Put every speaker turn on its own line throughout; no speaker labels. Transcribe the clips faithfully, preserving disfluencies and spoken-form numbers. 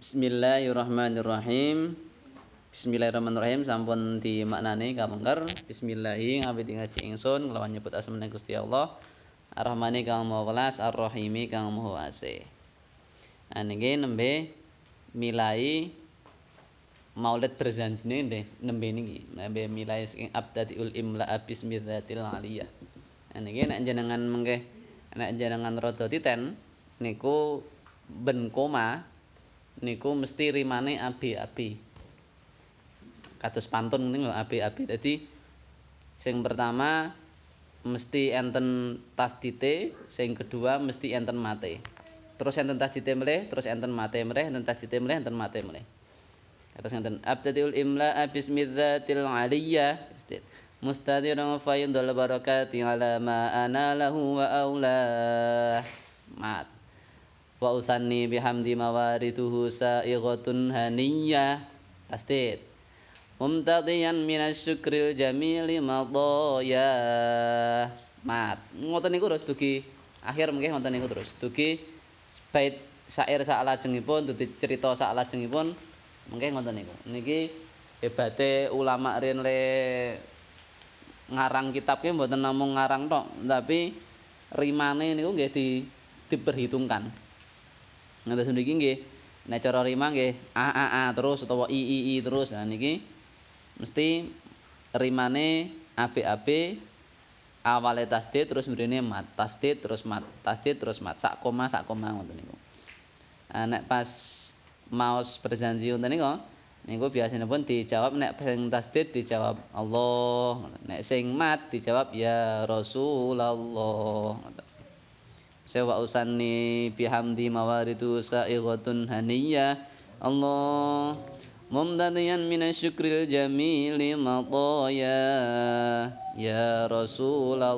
Bismillahirrahmanirrahim. Bismillahirrahmanirrahim sampun dimaknani kapengker. Bismillahi ngawiti ngaji ingsun kelawan nyebut asmane Gusti Allah. Ar-Rahmani kang Maha Welas, Ar-Rahimi kang Maha Asih. Nah niki nembe milai Maulid berjanjine nggih nembe niki. Nembe milai saking Abdadiul Imla Bismillatil Aliyah. Nah niki nek jenengan mengke nek jenengan rada titen niku ben koma niku mesti rimane abi-abi. Kados pantun niku abi-abi. Dadi sing pertama mesti enten tasdite, sing kedua mesti enten mate. Terus enten tasdite melih, terus enten mate melih, enten tasdite melih, enten mate melih. Kados enten abdadiul imla bismidzatil aliyah. Mustadiran fayundul barakati ala ma ana lahu wa aulah. Mat. Wa usanni bihamdi mawarituhu saighatun haniyah tasdid mumtadiyan minasyukril jamili madaya mat ngoten niku terus dugi akhir mengke ngoten niku terus dugi bait syair sak lajengipun dugi cerita sak lajengipun mengke ngoten niku niki hebate ulama riyen le ngarang kitab ki mboten namung ngarang tok tapi rimane niku nggih di diperhitungkan. Ngantos niki nggih nek cara rima nggih a a a terus utawa i i i terus. Nah niki mesti rimane abe-abe awale tasdid terus mrene mat, tasdid terus mat, tasdid terus mat, sak koma sak koma ngoten niku. Nah nek pas maos berjanji ngoten niku niku biasanipun dijawab nek sing tasdid dijawab Allah, nek sing mat dijawab ya Rasulullah ngoten. Sewa usanni bihamdi mawaridu saighatun haniyah Allah mumdadiyan minasyukril jamili madaya ya Rasulullah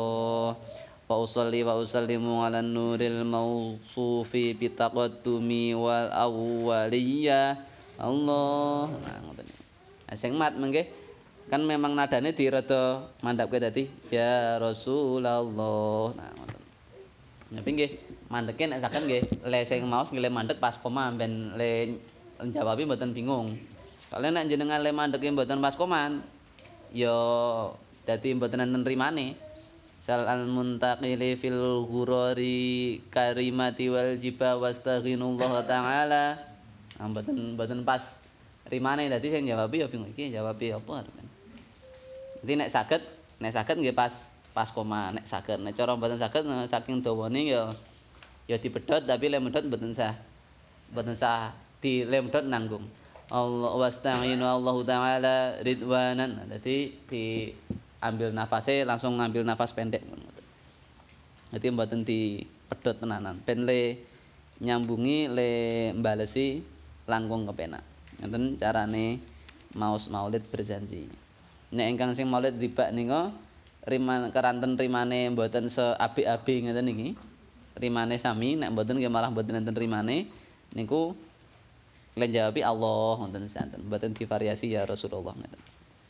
wa usalli wa usallimu ala nuril mausufi bitaqaddumi wal awwaliyah Allah. Nah ngoten. Nah sing mat mengke kan memang nadane dirada mandhapke dadi ya Rasulullah. Nah ngoten. Tapi nggih mandeke nek saged nggih le sing maos nggih le mandek pas koma ben le njawabi mboten bingung. Soale nek jenengan le mandeke mboten pas koman ya dadi mboten enten rimane. Sal al muntaqili fil ghurari karimati wal jiba wastaghinullah taala. Nah, mboten mboten pas rimane dadi sing jawabi ya bingung iki jawabi apa. Dadi nek saged nek saged nggih pas pas koma nek saged nek cara mboten saged saking dawane ya ya dipedhot tapi le medhot mboten sah mboten sah di le medhot nanggung Allah wasta'inu Allahu taala ridwanan dadi diambil nafase langsung ngambil nafas pendek dadi mboten dipedhot tenanan ben le nyambungi le mbalesi langkung kepenak ngoten carane maos maulid berjanji nek ingkang sing maulid dibak nika riman keranten rimane mboten seapik-apik ngeten niki. Rimane sami nek mboten nggih malah mboten enten rimane niku kalian jawabi Allah ngoten santen. Mboten divariasi ya Rasulullah ngoten.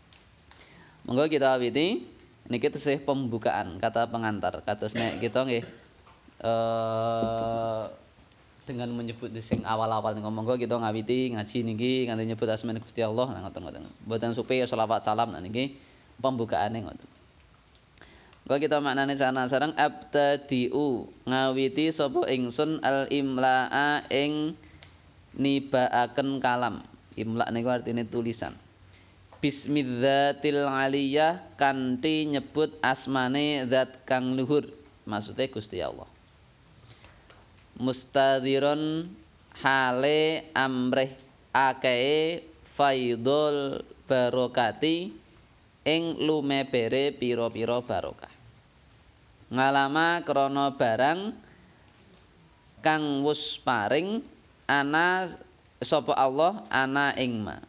Monggo kita awiti niki tesih pembukaan kata pengantar. Kados nek kita nggih eh dengan menyebut sing awal-awal niku monggo kita ngawiti ngaji niki nganti nyebut asmane Gusti Allah nah ngoten-ngoten. Mboten supe selawat salam nah niki pembukaane ngoten. Kok kita maknane sana sareng abtadiu ngawiti sapa ingsun al imlaa ing nibaaken kalam. Imla niku artine tulisan. Bismidzatil aliyah kanthi nyebut asmane zat kang luhur. Maksude Gusti Allah. Mustadhiron hale amrih akeh faidul barokati ing lumebere pira-pira barokah. Ngalama krana barang kang wus paring ana sapa Allah ana ing ma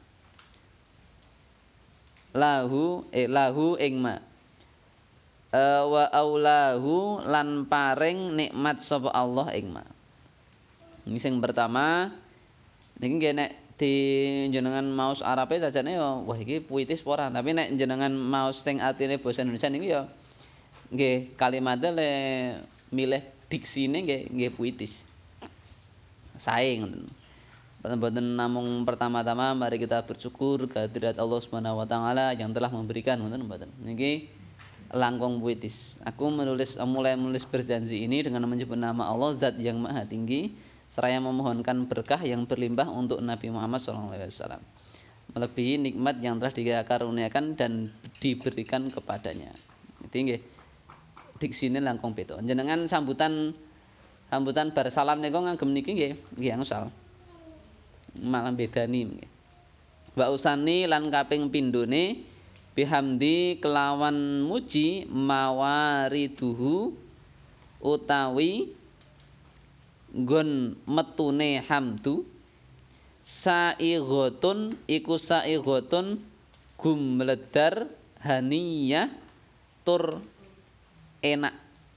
lahu eh lahu ing ma e, wa aulahu lan paring nikmat sapa Allah ing ma ini sing pertama niki nggih nek di jenengan maos Arabe sajane ya wah iki puitis apa ora tapi nek jenengan maos sing artine basa Indonesia niku ya nggih kalimatnya le milih diksine nggih nggih puitis. Sae ngoten. Boten namung pertama-tama mari kita bersyukur kehadirat Allah Subhanahu wa taala yang telah memberikan ngoten mboten. Niki langkung puitis. Aku menulis mulai menulis berjanji ini dengan menyebut nama Allah Zat yang Maha Tinggi seraya memohonkan berkah yang berlimpah untuk Nabi Muhammad shallallahu alaihi wasallam. Melebihi nikmat yang telah dikaruniakan dan diberikan kepadanya. Itu nggih. Diksine langkung beda. Jenengan sambutan sambutan bar salam niku ngagem niki nggih, nggih angsal. Malah bedani wa usani lan kaping pindhone bihamdi kelawan muji mawariduhu utawi nggon metune hamdu saighatun iku saighatun gumledar haniyah tur enak.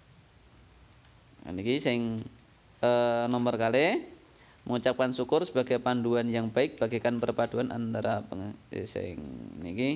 Niki sing eh, nomor kalih mengucapkan syukur sebagai panduan yang baik bagaikan perpaduan antara peng eh, sing niki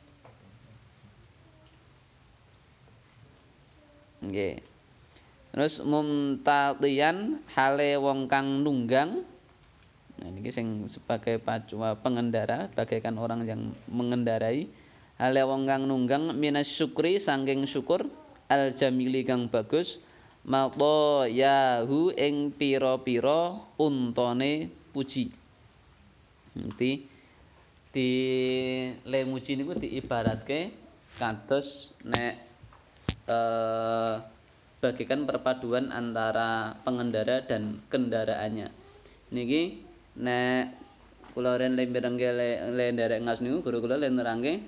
nggih. Terus mumtatiyan hale wong kang nunggang. Nah niki sing sebagai pacua pengendara bagaikan orang yang mengendarai hale wong kang nunggang minas syukri saking syukur al jamili kang bagus mata yahu ing pira-pira untane puji. Nanti di lemuji niku diibaratke kados nek eh, bagikan perpaduan antara pengendara dan kendaraannya. Niki nek kula ren lemberengke le nderek ngas niku guru kula le nerangke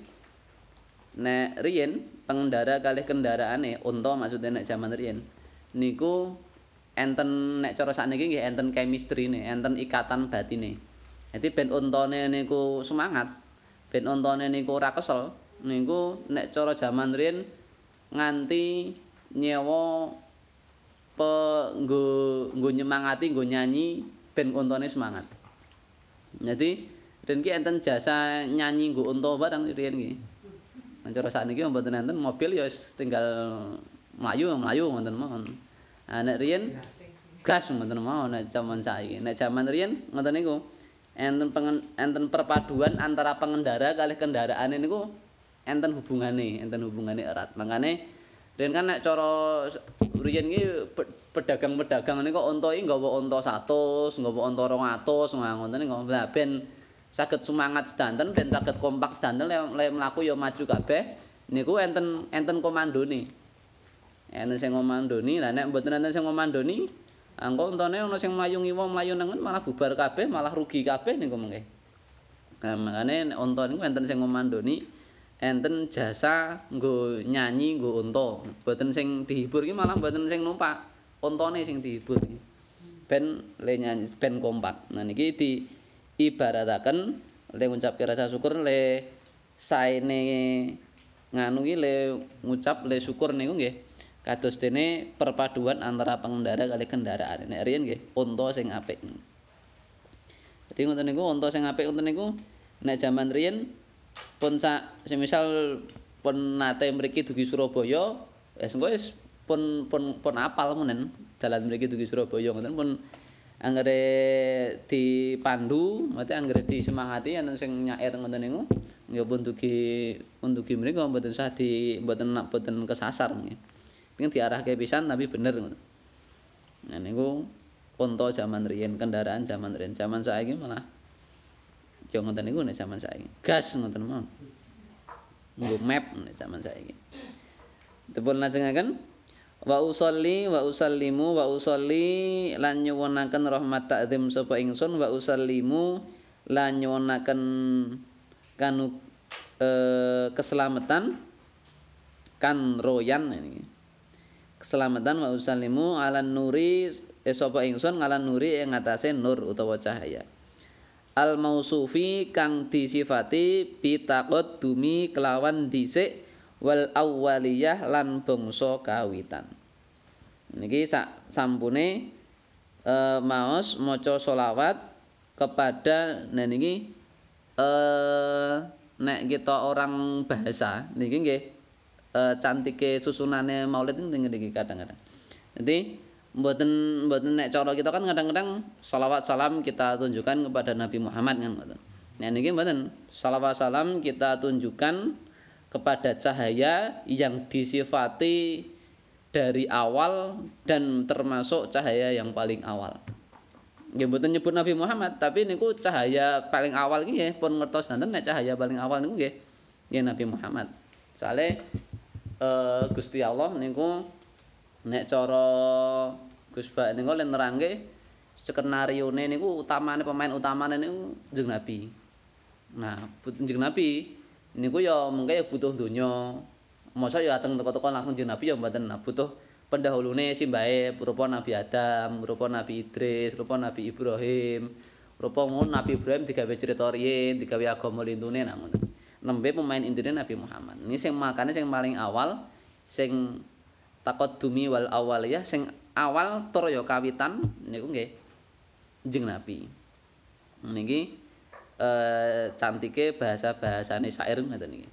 nek riyen pengendara kalih kendaraane unta maksudnya nek jaman riyen niku enten nek cara sakniki nggih enten chemistry-ne, enten ikatan batine. Jadi ben untane niku semangat, ben untane niku ora kesel, niku nek cara jaman riyen nganti nyewa pe nggo nggo nyemangati, nggo nyanyi ben untane semangat. Jadi riyen ki enten jasa nyanyi nggo unta barang riyen ki. Nek cara sakniki mboten enten mobil ya wis tinggal mlayu mlayu ngoten mawon. Nah nek riyen gas ngoten mawon nek jaman saiki. Nek jaman riyen ngoten niku enten pengen, enten perpaduan antara pengendara kalih kendaraane niku enten hubungane, enten hubungane erat. Makane riyen kan nek cara riyen ki pedagang-pedagang niku unta iki nggawa unta seratus, nggawa unta rong atus ngoten niku. Lah ben saged semangat sedanten ben saged kompak sedanten le mlaku ya maju kabeh niku enten enten komandone. Enten sing ngomandoni, lah nek mboten enten sing ngomandoni, engko untane ana sing mlayu ngiwa mlayu nengen malah bubar kabeh, malah rugi kabeh niku mengke. Nah, makane nek unta niku enten sing ngomandoni, enten jasa nggo nyanyi nggo unta. Mboten sing dihibur ki malah mboten sing numpak, untane sing dihibur. Ben le nyanyi ben kompak. Nah niki di ibarataken le ngucapke rasa syukur le saene nganu ki le ngucap le syukur niku nggih kados dene perpaduan antara pengendara kali kendaraan. Nek riyen nggih unta sing apik. Dadi ngoten niku unta sing apik ngoten niku nek jaman riyen pun sak semisal pun nate mriki dugi Surabaya wis engko wis pun pun pun apal menen dalan mriki dugi Surabaya ngoten pun anggere dipandu, mate anggere disemangati enten sing nyair ngoten niku nggih pun dugi pun dugi mriku mboten usah di mboten mboten kesasar nggih. Pengin diarahke pisan tapi bener ngono. Nah niku unta jaman riyen, kendaraan jaman riyen. Jaman saiki malah ya ngoten niku nek jaman saiki. Gas ngoten mawon. Nggo map nek jaman saiki. Dipun lajengaken wa usolli wa usallimu wa usolli lan nyuwunaken rahmat takzim sapa ingsun wa usallimu lan nyuwunaken kanu eh, keselamatan kan royan ini. Keselamatan wa usallimu ala nuri eh, sapa ingsun ngalan nuri ing atase nur utawa cahaya. Al mausufi kang disifati bitaqaddumi kelawan dhisik wal awwaliyah lan bangsa kawitan. Niki sak sampune e, maos maca selawat kepada nah niki e, nek kita orang bahasa niki nggih e, cantike susunane maulid niki kadang-kadang. Jadi Mboten mboten nek cara kita kan kadang-kadang salawat salam kita tunjukkan kepada Nabi Muhammad kan ngoten. Nah niki mboten, salawat salam kita tunjukkan kepada cahaya yang disifati dari awal dan termasuk cahaya yang paling awal. Nggih mboten nyebut Nabi Muhammad, tapi niku cahaya paling awal iki nggih pun ngertos nanten nek cahaya paling awal niku nggih nggih Nabi Muhammad. Soale eh, Gusti Allah niku nek cara Gus Bak niku len nerangke skenarione niku utamane pemain utamane niku Kanjeng Nabi. Nah, Kanjeng Nabi niku ya mengke ya butuh donya. Masa ya dateng teko-teko langsung Kanjeng Nabi ya mboten. Nah, butuh pendahulune simbahe rupa Nabi Adam, rupa Nabi Idris, rupa Nabi Ibrahim. Rupa ngono Nabi Ibrahim digawe crita riyin, digawe agama lintune nah ngono. Nembe pemain intine Nabi Muhammad. Ini sing makane sing paling awal sing taqaddumi wal awaliyah sing awal tur ya kawitan niku nggih Kanjeng Nabi. Niki eh, cantike bahasa-bahasane syair ngoten iki.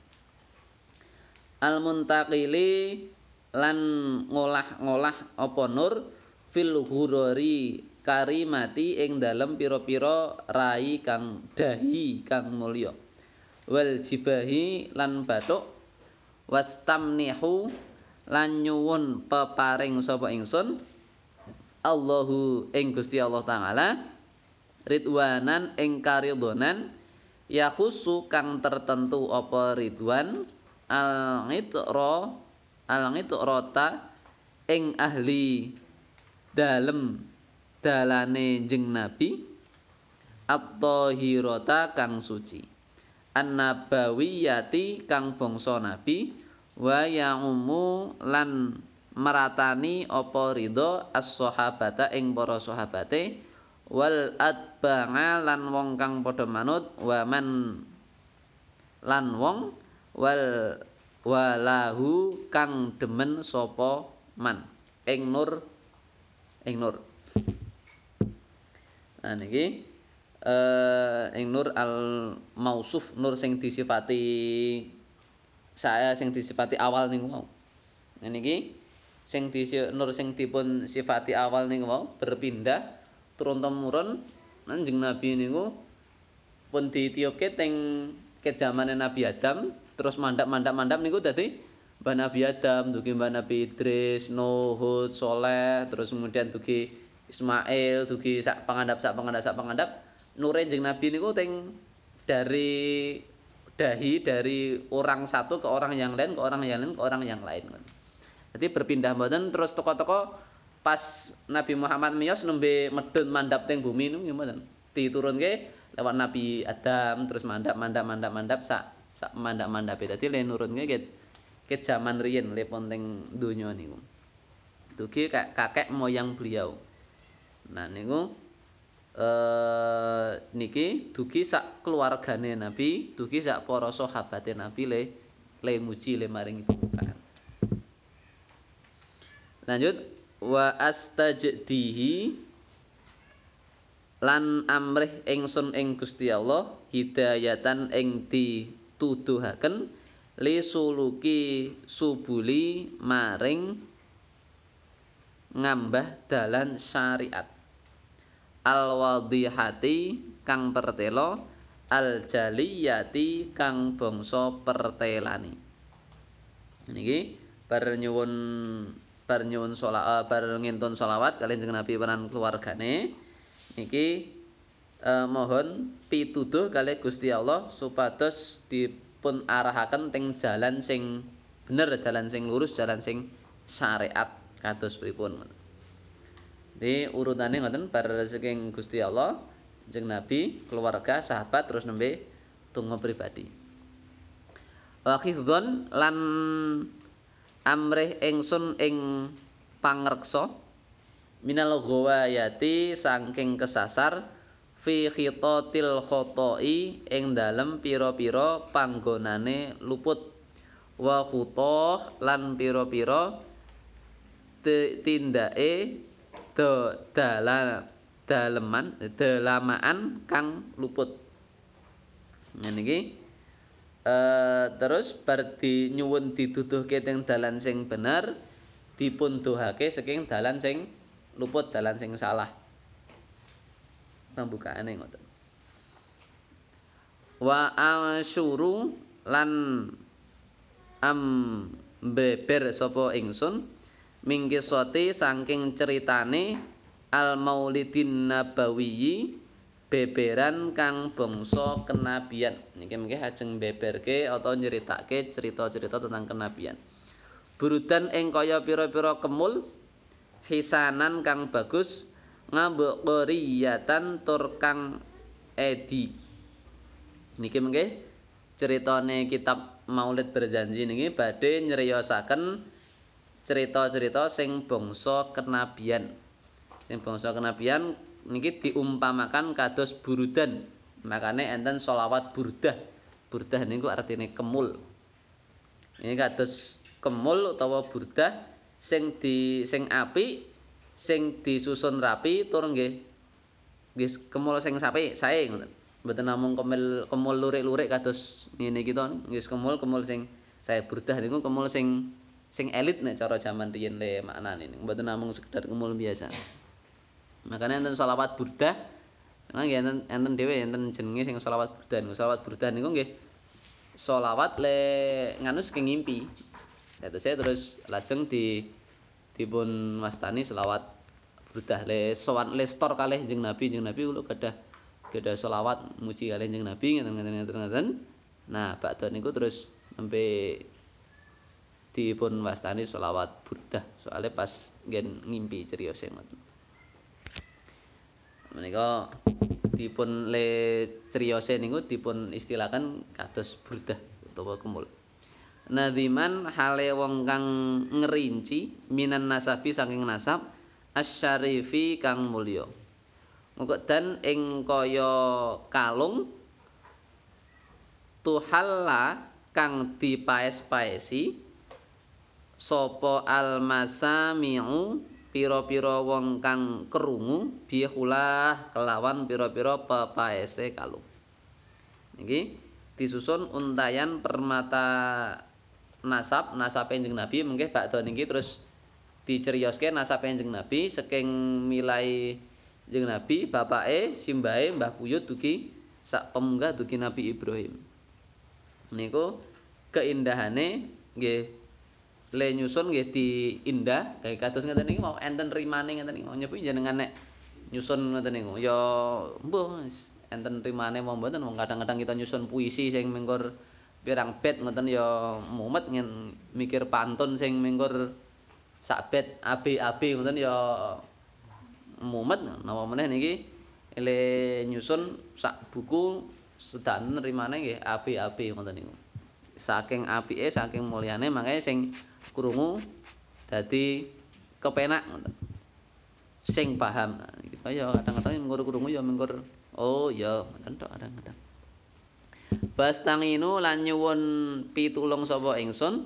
Al muntaqili lan ngolah-ngolah apa nur fil ghurari karimati ing dalem pira-pira rai kang dahi kang mulya. Wal jibahi lan bathuk wastamnihu lan nyuwun peparing sapa ingsun Allahu ing Gusti Allah taala ridwanan ing karidhonan ya khusu kang tertentu apa ridwan al ngitra al ngitrata ing ahli dalem dalane jeng nabi at-tahirata kang suci an-nabawiyati kang bangsa nabi wa ya'umu lan meratani apa ridho as-sahabata ing para sahabate wal atba'a lan wong kang padha manut wa man lan wong wal walahu kang demen sapa man ing nur ing nur. Nah niki eh ing nur al mausuf nur sing disifati saya sing disifati awal niku mau. Nah niki sing disi nur sing dipun sifati awal niku mau berpindah turun temurun Kanjeng Nabi niku pun ditiupke teng ke zamane Nabi Adam terus mandap-mandap-mandap niku dadi Mbah Nabi Adam, dugi Mbah Nabi Idris, Nuh, Hud, Saleh, terus kemudian dugi Ismail, dugi sak pangandap sak pangandap sak pangandap nure Kanjeng Nabi niku teng dari dahi dari orang satu ke orang yang lain ke orang yang lain ke orang yang lain. Jadi berpindah mboten terus toko-toko pas Nabi Muhammad miyos nembe medhun mandhap teng bumi niku mboten. Diturunke lewat Nabi Adam terus mandhap mandhap mandhap mandhap sak sak mandhap-mandhape. Dadi le nurunke ke ke jaman riyin le pon teng donya niku. Dugi kakek moyang beliau. Nah niku eh niki dugi sak keluargane Nabi, dugi sak para sahabate Nabi le le muji le maringi pembukaan. Lanjut wa astajdihi lan amrih ingsun ing Gusti Allah hidayatan ing dituduhaken li suluki subuli maring ngambah dalan syariat al wadihati kang pertelo al jaliyati kang bangsa pertelani. Niki bar nyuwun bar nyuwun sholawat bar ngintun sholawat kaliyan jeneng Nabi paran keluargane niki eh, mohon pituduh kalih Gusti Allah supados dipun arahaken teng jalan sing bener, jalan sing lurus, jalan sing syariat kados pripun. Jadi urutane ngoten bar saking Gusti Allah, jeneng Nabi, keluarga, sahabat terus nembe tunggu pribadi. Wa khifdzon lan amrih ingsun ing pangreksa minal ghawayati saking kesasar fi khitatil khotai ing dalem pira-pira panggonane luput wa khutoh lan pira-pira tindake do dalan daleman dalamaan kang luput. Ngene iki Uh, terus bar di nyuwun dituduhke teng dalan sing bener dipun dohake saking dalan sing luput dalan sing salah. Pembukaane ngoten. Wa asyuru lan am beber sapa ingsun mingkisoti saking ceritane al maulidin nabawiyyi beberan kang bangsa kenabian. Niki mengke ajeng beberke atau nyeritake cerita-cerita tentang kenabian. Burudan ing kaya pira-pira kemul hisanan kang bagus ngambek qriyatan tur kang edi. Niki mengke ceritane kitab Maulid Berjanji niki badhe nyriyosaken cerita-cerita sing bangsa kenabian. Sing bangsa kenabian niki diumpamakan kados burudan. Makane enten sholawat burdah. Burdah niku artine kemul. Ini kados kemul utawa burdah sing di sing apik, sing disusun rapi tur nggih nggih kemul sing sapi sae ngoten. Mboten namung kemul kemul lurik-lurik kados ngene iki to. Nggih kemul-kemul sing sae burdah niku kemul sing sing elit nek cara jaman riyin le maknane niku. Mboten namung sekedar kemul biasa. Makanya enten sholawat burdah. Nah, nggih enten enten dhewe enten jenenge sing sholawat burdah. Sholawat burdah niku nggih sholawat le nganu saking ngimpi. Dados saya terus lajeng di dipun wastani sholawat burdah le sowan le stor kalih Kanjeng Nabi. Kanjeng Nabi kula gadah gadah sholawat muji kalih Kanjeng Nabi ngeten-ngeten. Nah, bakda niku terus nembe dipun wastani sholawat burdah. Soalnya pas ngen ngimpi criyose ngoten. Menika dipun le criyose niku dipun istilahaken kados burdah utawa kemul. Nadhiman hale wong kang ngerinci minan nasabi saking nasab asyarifi kang mulya. Mukodan ing kaya kalung tuhalla kang dipaes-paesi sapa almasami'u pira-pira wong kang krungu bihulah kelawan pira-pira pepaese kalung. Niki disusun untayan permata nasab nasab Kanjeng Nabi mengke bakda niki terus dicerioske nasab Kanjeng Nabi saking milai Kanjeng Nabi bapake simbahe Mbah Buyut dugi sak pemunggah dugi Nabi Ibrahim. Niku keindahane nggih le nyusun nggih diindah kaya kados ngeten niki mau enten rimane ngeten niki mau nyepi jenengan nek nyusun ngeten niku ya mbuh enten rimane mau mboten wong kadang-kadang kita nyusun puisi sing mengkur pirang bait ngoten ya mumet ngen mikir pantun sing mengkur sak bait abi-abi ngoten ya mumet napa meneh niki le nyusun sak buku sedanten rimane nggih abi-abi ngoten niku. Saking apike saking mulyane makanya sing krungu dadi kepenak ngoten. Sing paham. Kita ya kadang-kadang mengkur krungu ya mengkur oh ya ngoten tok kadang-kadang. Bastanginu lan nyuwun pitulung sapa ingsun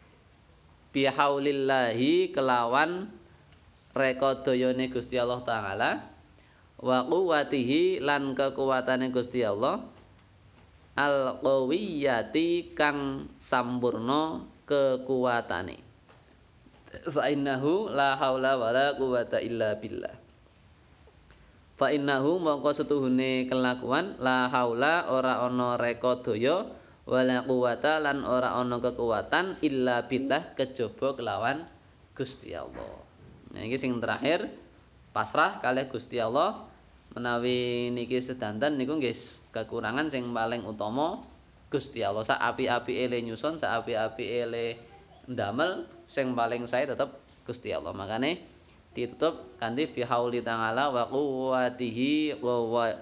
bihaulillahi kelawan rekadayane Gusti Allah taala wa quwwatihi lan kekuatane Gusti Allah al qawiyyati kang sampurna kekuatane. Fa innahu la haula wala quwwata illa billah. Fa innahu mongko setuhune kelakuan la haula ora ana reka daya wala quwata lan ora ana kekuatan illa billah kejaba kelawan Gusti Allah. Nah iki sing terakhir pasrah kalih Gusti Allah menawi niki sedanten niku nggih kekurangan sing paling utama Gusti Allah. Sak api-apike le nyusun, sak api-apike le ndamel sing paling sae tetep Gusti Allah. Makane ditutup kanthi bihauli ta'ala wa quwwatihi wa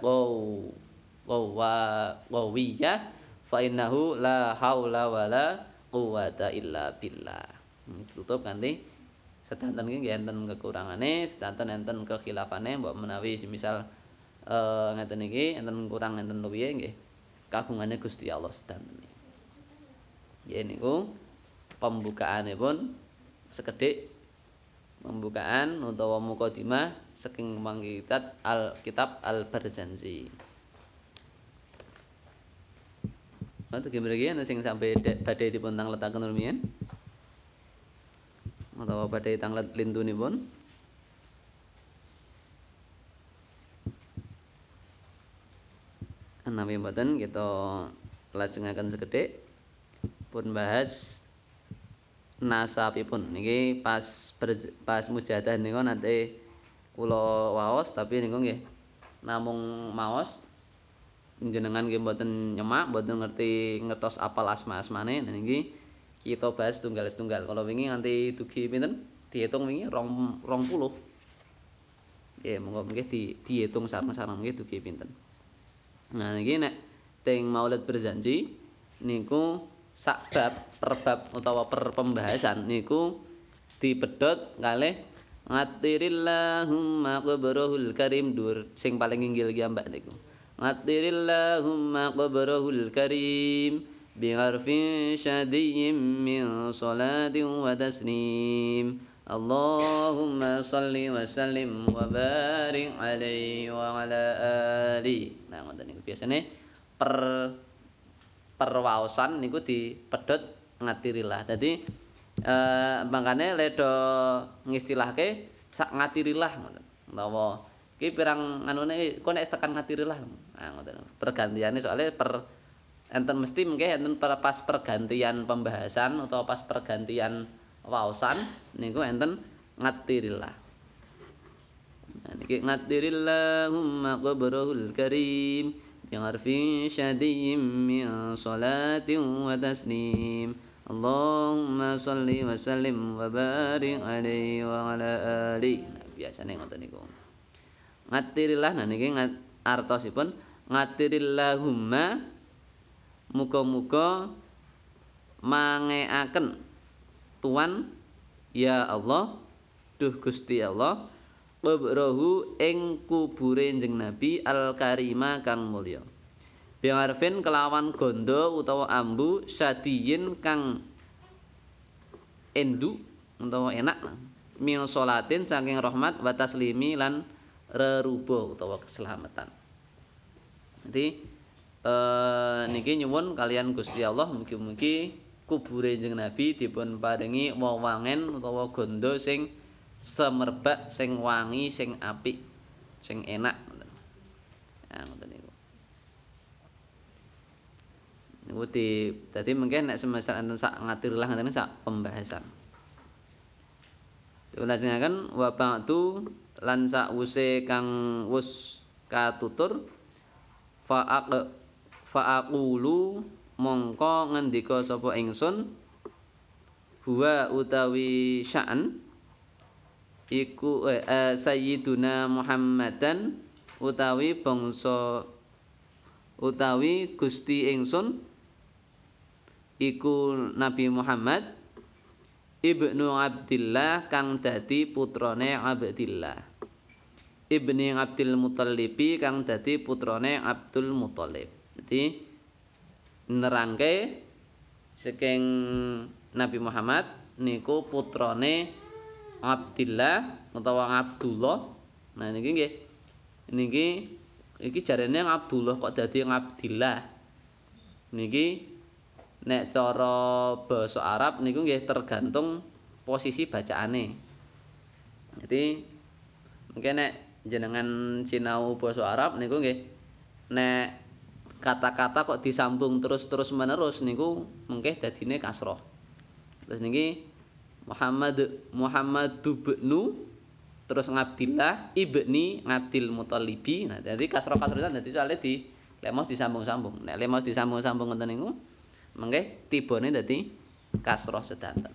qawiyah fa innahu la haula wala quwwata illa billah. Ditutup kanthi sedanten iki nggih enten kekurangane, sedanten enten kekhilafane mbok menawi semisal eh ngeten iki enten kurang enten luwihe nggih kagungane Gusti Allah sedanten. Nggih niku pembukaanipun sekedhik pembukaan utawa mukadimah saking mangkitat al kitab al Barzanji. Nanti mriki ana sing sampai badhe dipun tangletaken rumiyin. Utawa badhe tanglet lintunipun. Menawi mboten kita lajengaken sekedhik pun bahas nasabipun niki pas pas mujahadah niku nanti kula waos tapi niku nggih namung maos jenengan nggih mboten nyemak mboten ngerti ngertos apal asma-asmane nah niki kita bahas tunggal-tunggal kalau wingi nganti dugi pinten diitung wingi rong rong puluh nggih monggo nggih di diitung sareng-sareng nggih dugi pinten nah niki nek teng Maulid Berjanji niku sak bab per bab utawa per pembahasan niku dipedhot kalih ngatirillahumma qabrahul karim dur sing paling inggil ki mbak niku ngatirillahumma qabrahul karim bi'arfin syadiyyin min salatin wa taslim Allahumma salli wa sallim wa barik alaihi wa ala ali nah ngoten niku biasane per perwaosan niku dipedhot ngatirillah. Dadi eh mangkane ledo ngistilahke sak ngatirillah ngoten. Utawa iki pirang anune kok nek tekan ngatirillah. Nah ngoten. Pergantiane soalnya per enten mesti mengke enten pas pergantian pembahasan utawa pas pergantian waosan niku enten ngatirillah. Nah niki ngatirillahumma qabrahul karim bi'arfin syadiyyin min salatin wa taslim Allahumma sholli wa sallim wa barik alaihi wa ala ali nah, biasane ngoten niku ngatirillah nah niki ngat, artosipun ngatirillahumma muga-muga mangeaken Tuhan ya Allah duh Gusti Allah qabrahu ing kubure Kanjeng Nabi al-karima kang mulya. Bi'arfin kelawan gondo utawa ambu sadiyin kang endu utawa enak min salatin saking rahmat wa taslimi lan reruba utawa keselamatan. Jadi eh, niki nyuwun kalian Gusti Allah mugi-mugi kubure Kanjeng Nabi dipun paringi wewangen utawa gondo sing semerbak sing wangi sing apik sing enak nah ngoten niku niku di dadi mungkin nek semester enten sak ngatirlah ngeten sak pembahasan diulajengaken wa ba'du lan sakwuse kang wus katutur fa'aq fa'aqulu mongko ngendika sapa ingsun huwa utawi sya'an iku eh, eh, Sayyiduna Muhammadan utawi bangsa utawi Gusti ingsun iku Nabi Muhammad ibnu Abdillah kang dadi putrane Abdillah ibni Abdul Mutthalibi kang dadi putrane Abdul Muthalib jadi nerangke saking Nabi Muhammad niku putrane Abdillah utawa Abdullah. Nah niki nggih. Niki iki jarene Abdullah kok dadi Abdillah. Niki nek cara basa Arab niku nggih tergantung posisi bacaane. Jadi mungkin nek jenengan sinau basa Arab niku nggih nek kata-kata kok disambung terus-terus menerus niku mungkin dadine kasroh. Terus niki Muhammad Muhammad ibnu terus Abdillah ibni Abdul Muthalibi. Nah, jadi kasroh-kasroh dadi soalé di lemos disambung-sambung. Nek lemos disambung-sambung ngoten niku mengke tibane dadi kasroh sedanten.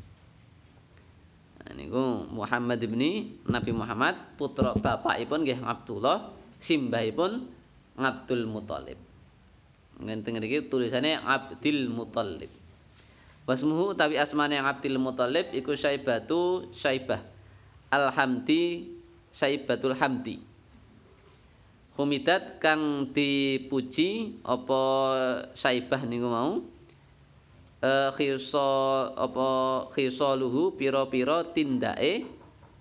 Nah, niku Muhammad ibni Nabi Muhammad putra bapakipun nggih Abdullah, simbahipun Abdul Muthalib. Ngenten ngriki tulisane Abdul Muthalib. Wasmuhu utawi asmane Abdul Muthalib iku Syaibatu Syaibah Alhamdi Syaibatul Hamdi Humidat kang dipuji apa Syaibah niku mau eh khisa apa khisaluhu pira-pira tindake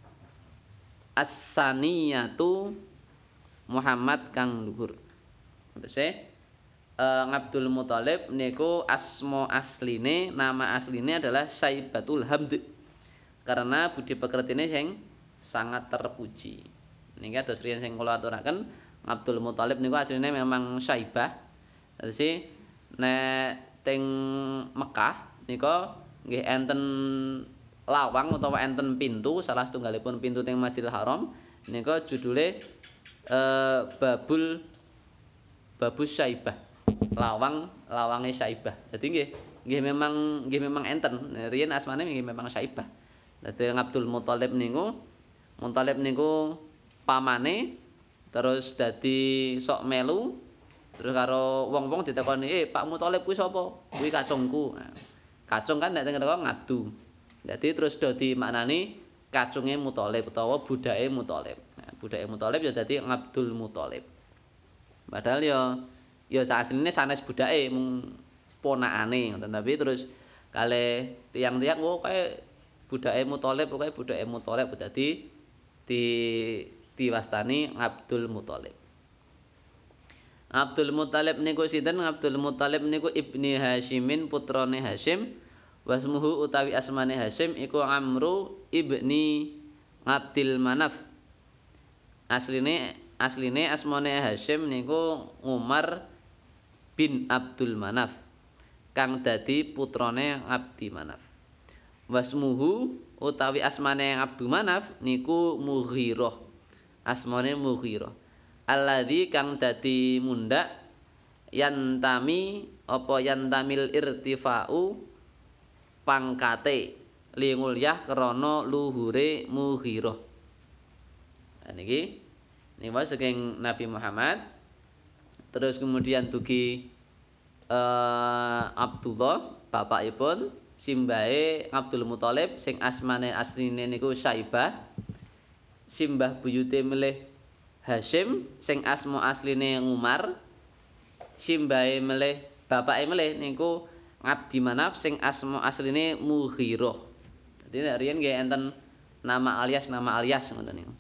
as-saniyatu Muhammad kang luhur. Terus Uh, Abdul Muthalib niku asma asline nama asline adalah Syaibatul Hamd karena budi pekertine sing sangat terpuji. Niki kados riyen sing kula aturaken Abdul Muthalib niku asline memang Syaibah. Dadi nek teng Mekah nika nggih enten lawang utawa enten pintu salah setunggalipun pintu teng Masjidil Haram nika judule eh, Babul Babus Syaibah. Lawang lawange Syaibah. Dadi nggih nggih memang nggih memang enten. Riyen asmane nggih memang Syaibah. Dadi Abdul Muthalib niku Muthalib niku pamane terus dadi sok melu terus karo wong-wong ditakoni, "Eh, Pak Muthalib kuwi sapa?" "Kuwi kacungku." Nah, kacung kan nek teng kene ngadu. Dadi terus do dimaknani kacunge Muthalib utawa budake Muthalib. Nah, budake Muthalib ya dadi Abdul Muthalib. Padahal ya ya asline sanes budake mung ponakane ngoten tapi terus kalih tiang-tiang oh kae budake Muthalib pokoke budake Muthalib dadi di diwastani Abdul Muthalib. Abdul Muthalib niku sinten? Abdul Muthalib niku Ibni Hasyimin putrane Hasyim. Wasmuhu utawi asmane Hasyim iku Amru ibni Abdil Manaf. Asline asline asmane Hasyim niku Umar bin Abdul Manaf kang dadi putrane Abdi Manaf. Wasmuhu utawi asmane Abdul Manaf niku Mughirah. Asmane Mughirah. Alladzi kang dadi mundhak yantami apa yantamil irtifa'u pangkate lingulyah krana luhure Mughirah. Nah niki niku saking Nabi Muhammad terus kemudian dugi eh, Abdullah bapakipun simbahe Abdul Muthalib sing asmane asline niku Syaibah simbah buyute milih Hasyim sing asma asline Umar simbahe milih bapake milih niku Abdi Manaf sing asma asline Mughirah. Dadi riyen nggih enten nama alias nama alias ngoten niku.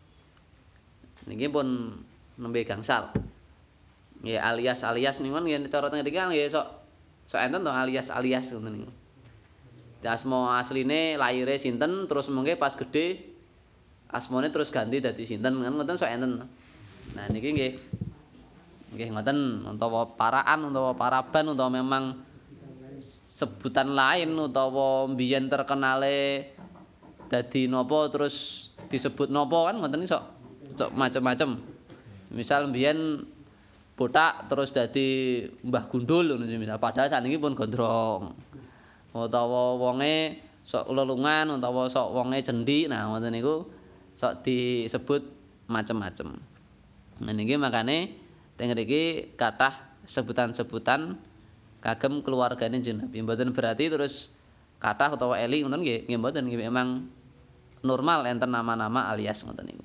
Niki pun nembe gangsal. Nggih alias-alias niku nggih cara teng mriki nggih sok sok enten to alias-alias ngoten niku. Asma asline laire sinten terus mengke pas gedhe asmane terus ganti dadi sinten kan ngoten sok enten. Nah niki nggih nggih ngoten utawa paraan utawa paraban utawa memang sebutan lain utawa mbiyen terkenale dadi napa terus disebut napa kan ngoten iso sok macem-macem. Misal mbiyen botak terus dadi Mbah Gundul ngono misal padahal saniki pun gondrong. Utawa wonge sok lelungan utawa sok wonge cendhi nah ngoten niku sok disebut macem-macem. Nah niki makane teng mriki kathah sebutan-sebutan kagem keluargane jeneng Nabi. Mboten berarti terus kathah utawa eli ngoten nggih, nggih mboten nggih memang normal enten nama-nama alias ngoten niku.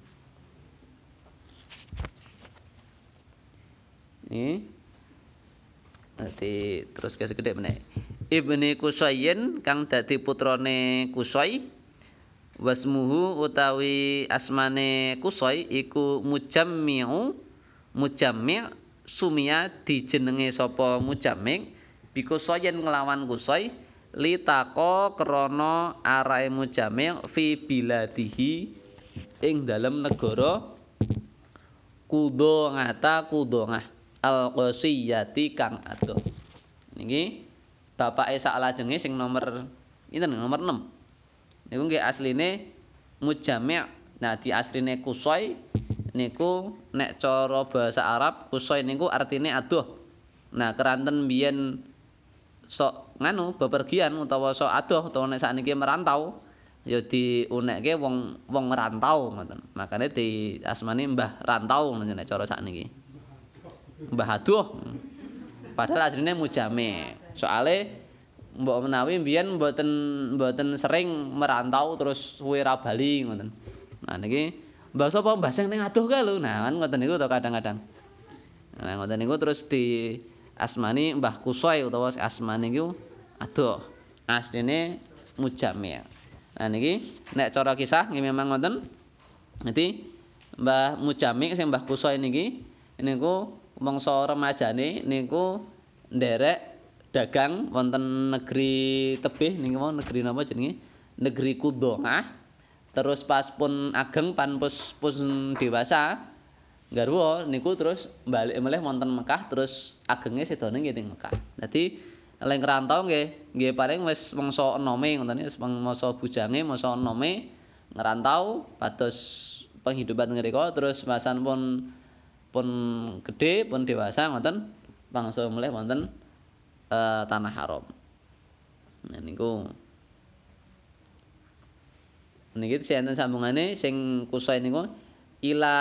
Nggih. Dadi terus ke segede meneh. Ibni Qusayyin kang dadi putrane Qusay wasmuhu utawi asmane Qusay iku Mujammi'u Mujammi' sumia dijenenge sapa Mujammi' bikusayen nglawan Qusay litaqo krana arahe Mujammi' fi biladihi ing dalem negara Qudhongata Qudhongah al-Qasiyati kang adoh. Niki bapake saklajenge sing nomor pinten nomor enam. Niku nggih asline Mujammi'. Nah di asline Qusay niku nek cara basa Arab Qusay niku artine adoh. Nah keranten biyen sok nganu bepergian utawa sok adoh utawa nek sakniki merantau ya diunekke wong wong merantau ngoten. Makane di asmani Mbah Rantau nek cara sakniki. Mbah Adoh. Padahal asline Mujammi'. Soale mbok menawi mbiyen mboten mboten sering merantau terus suwe ra bali ngoten. Nah niki mbah sapa mbah sing ning adoh kae lho. Nah kan ngoten niku to kadang-kadang. Nah ngoten niku terus di asmani Mbah Qusay utawa asmane niku adoh. Asline Mujammi'. Nah niki nek cara kisah nggih memang ngoten. Dadi Mbah Mujammi' sing Mbah Qusay niki niku mangsa remajane niku nderek dagang wonten negeri tebih niku mau negeri napa jenenge? Negeri Qudhongah. Terus pas pun ageng pan pus pun dewasa garwa niku terus balik melih wonten Mekah terus agenge sedone nggih teng Mekah. Dadi lek ngrantau nggih nggih paling wis mangsa enome ngoten wis mangsa bujange mangsa enome ngrantau pados penghidupan ngrika terus masan pun pun gedhe pun dewasa ngoten bangsa melih wonten uh, tanah haram. Nah niku niki enten sambungane sing kusai niku ila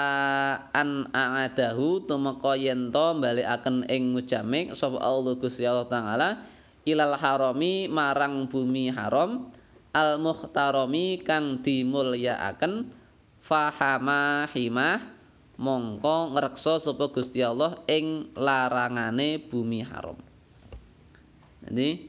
an a'adahu tumeka yen to balekaken ing mujamik sapa Allah Gusti Allah taala ilal harami marang bumi haram al muhtarami kang dimulyakaken fahama himah mongko ngreksa sapa Gusti Allah ing larangane bumi haram. Jadi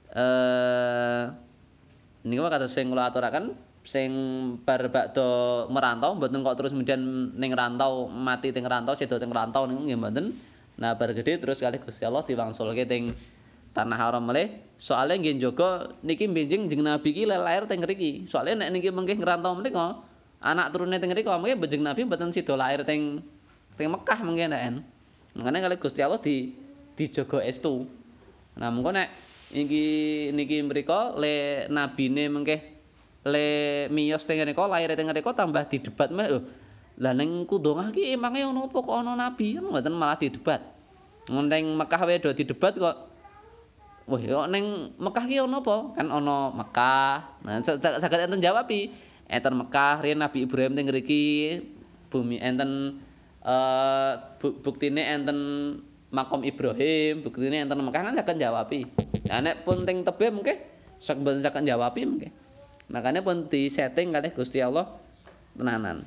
eh niku kados sing kula aturaken sing bar bakda merantau mboten kok terus kemudian ning rantau mati teng rantau sedo teng rantau niku nggih mboten. Nah bar gedhe terus kalih Gusti Allah diwangsulke teng tanah haram melih. Soale nggih njaga niki benjing jeneng Nabi iki lair teng mriki. Soale nek niki mengke ngrantau menika anak turune teng mriki mengke benjing Nabi mboten sida lair teng teng Mekah mengke nek. Makane kalih Gusti Allah di dijaga estu. Nah mengko nek iki niki mrika le nabine mengke le miyos teng ngrika lair teng ngrika tambah didebat meneh lho. Lah ning Kundungah ki emange ono apa kok ono nabi? Mboten malah didebat. Neng Mekah wae do didebat kok. Wah, kok ning Mekah ki ono apa? Kan ono Mekah. Nah, saged enten jawabi. Enten Mekah riyen Nabi Ibrahim teng ngriki bumi enten eh buktine enten makom Ibrahim, buktine enten Mekah kan saged jawabi. Nah nek pun teng tebih mungkin saged saged jawabi mungkin. Makanya pun disetting kalih Gusti Allah tenanan.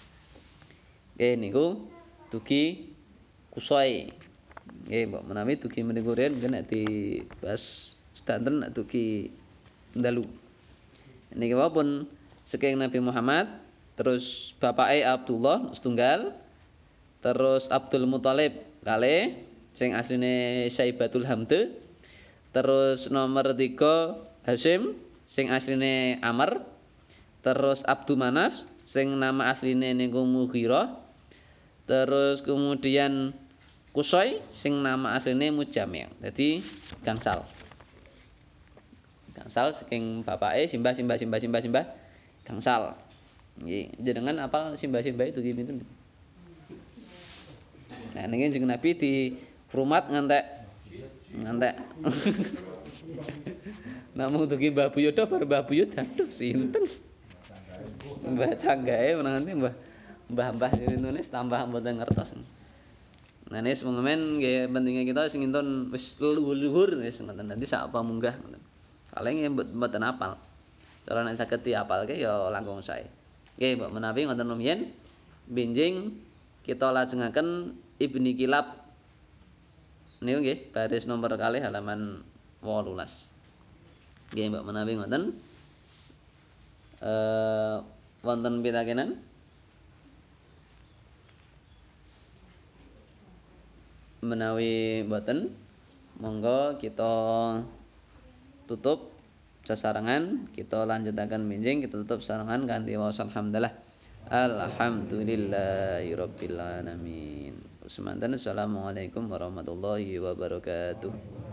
Nggih niku dugi kusoi. Nggih mbok menawi dugi meniku riyen mungkin nek dibahas sedanten nek dugi ndalu. Niki pun saking Nabi Muhammad terus bapake Abdullah setunggal terus Abdul Muthalib kalih sing asline Syaibatul Hamd terus nomor tiga Hasyim sing asline Amr terus Abdu Manaf sing nama asline niku Mughirah terus kemudian Kusai sing nama asline Mujami'. Dadi gangsal. Gangsal saking bapake simbah simbah simbah simbah simbah gangsal. Nggih, jenengan apal simbah-simbah itu pinten? Nah niki jeneng Nabi di rumat ngantek ngantek namung dugi Mbah Buyuda bar Mbah Buyut aduh sinten Mbah Canggae menanti Mbah Mbah-mbah nulis tambah mboten ngertos. Nah nis mengemen nggih pentinge kita sing intun wis luhur wis ngoten nanti sak apa munggah ngoten. Paling mboten apal. Cara nek saged diapalke ya langkung sae. Nggih mbok menawi ngoten rumiyin benjing kita lajengaken Ibni Kilab niku nggih baris nomor kalih halaman wolulas. Nggih mbok menawi ngoten eh wonten pitakenan menawi mboten monggo kita tutup sesarengan kita lanjutaken benjing kita tutup sesarengan kanthi waos alhamdulillah alhamdulillahirabbil alamin. Semanten assalamualaikum warahmatullahi wabarakatuh.